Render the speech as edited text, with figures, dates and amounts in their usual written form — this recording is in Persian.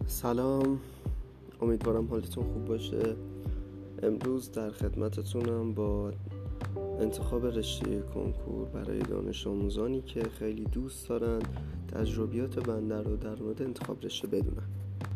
سلام، امیدوارم حالتون خوب باشه. امروز در خدمتتونم با انتخاب رشته کنکور برای دانش آموزانی که خیلی دوست دارن تجربیات بنده رو در مورد انتخاب رشته بدونن.